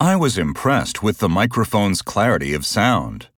I was impressed with the microphone's clarity of sound.